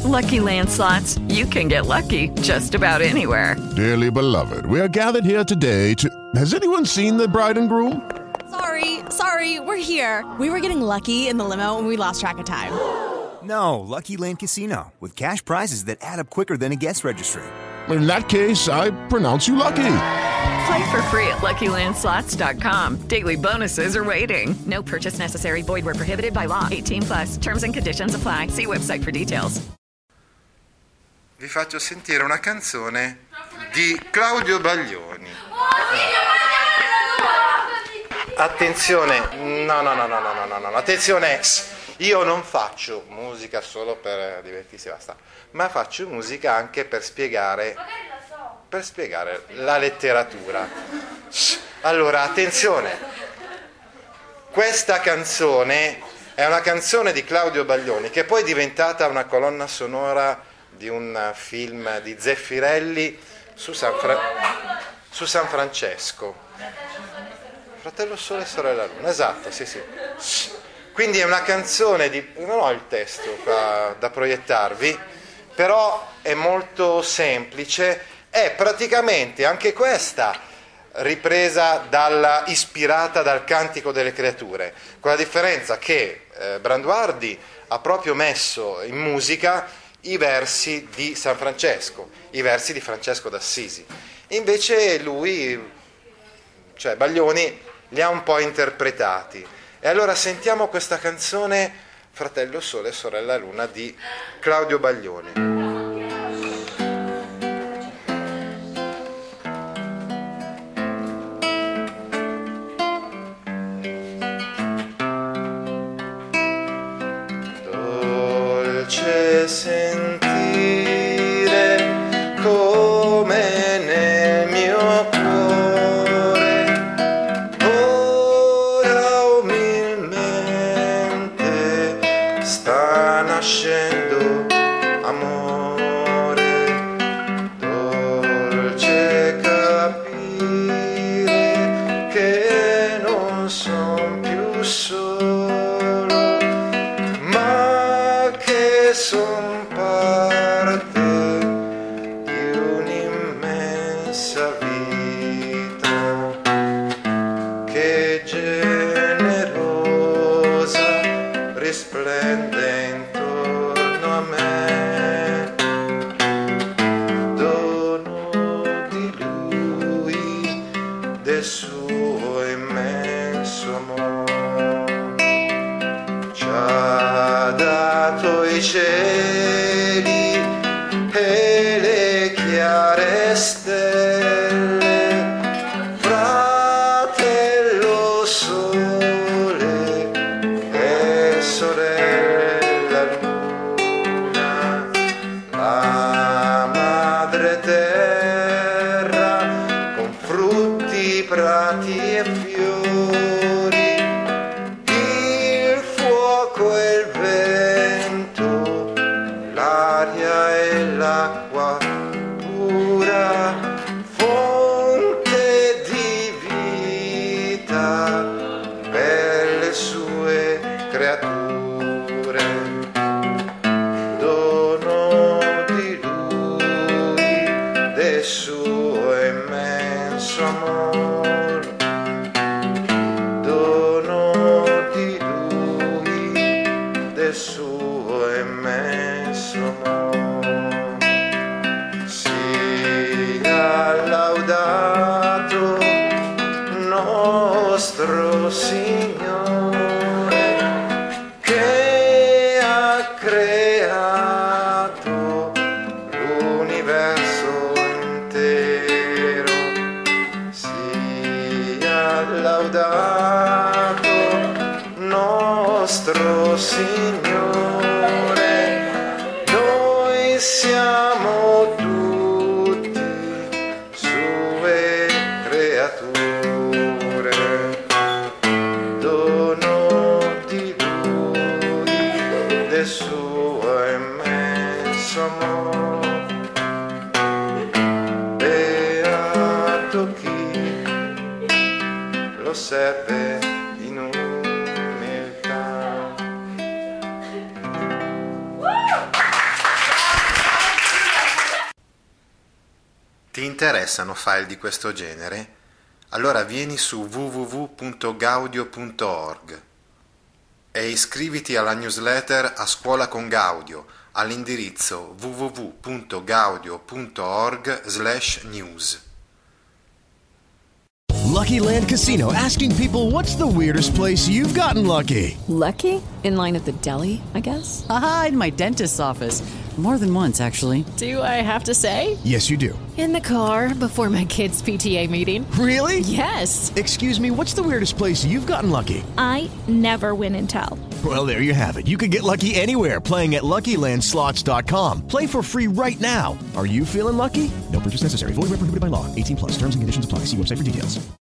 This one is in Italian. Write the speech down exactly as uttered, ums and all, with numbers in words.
Lucky Land Slots, you can get lucky just about anywhere. Dearly beloved, we are gathered here today to... Has anyone seen the bride and groom? Sorry, sorry, we're here. We were getting lucky in the limo and we lost track of time. No, Lucky Land Casino, with cash prizes that add up quicker than a guest registry. In that case, I pronounce you lucky. Play for free at Lucky Land Slots dot com. Daily bonuses are waiting. No purchase necessary. Void where prohibited by law. eighteen plus. Terms and conditions apply. See website for details. Vi faccio sentire una canzone di Claudio Baglioni. Attenzione, no, no, no, no, no, no, no, attenzione, io non faccio musica solo per divertirsi, basta, ma faccio musica anche per spiegare, per spiegare la letteratura. Allora, attenzione, questa canzone è una canzone di Claudio Baglioni che poi è diventata una colonna sonora di un film di Zeffirelli su San, Fra- su San Francesco. Fratello Sole e Sorella Luna, esatto, sì, sì. Quindi è una canzone di... non ho il testo qua da proiettarvi, però è molto semplice, è praticamente anche questa ripresa dalla, ispirata dal Cantico delle Creature, con la differenza che eh, Branduardi ha proprio messo in musica i versi di San Francesco, i versi di Francesco d'Assisi. Invece lui, cioè Baglioni, li ha un po' interpretati. E allora sentiamo questa canzone Fratello Sole e Sorella Luna di Claudio Baglioni. Dolce sentire come nel mio cuore ora umilmente sta nascendo amore. Dolce capire che non son più solo, ma che son parte di un'immensa vita che generosa risplende intorno a me, dono di lui, del suo immenso amore. Ci ha dato i cieli e le chiare stelle, fratello sole e sorella luna, la madre terra con frutti, prati e fiori, il fuoco e il vento, l'aria e l'acqua pura, fonte di vita per le sue creature, dono di lui, del suo immenso amore, dono di lui, del suo immenso amore. Sia laudato nostro Signore che ha creato l'universo intero. Sia laudato nostro Signore, noi siamo tutti sue creature, dono di lui, del suo immenso amore. Beato chi lo serve in umiltà. Ti interessano file di questo genere? Allora vieni su w w w punto gaudio punto org e iscriviti alla newsletter A Scuola con Gaudio all'indirizzo w w w punto gaudio punto org slash news. Lucky Land Casino, asking people, what's the weirdest place you've gotten lucky? Lucky? In line at the deli, I guess? Aha, in my dentist's office. More than once, actually. Do I have to say? Yes, you do. In the car before my kids' P T A meeting. Really? Yes. Excuse me, what's the weirdest place you've gotten lucky? I never win and tell. Well, there you have it. You can get lucky anywhere, playing at Lucky Land Slots dot com. Play for free right now. Are you feeling lucky? No purchase necessary. Void where prohibited by law. eighteen plus. Terms and conditions apply. See website for details.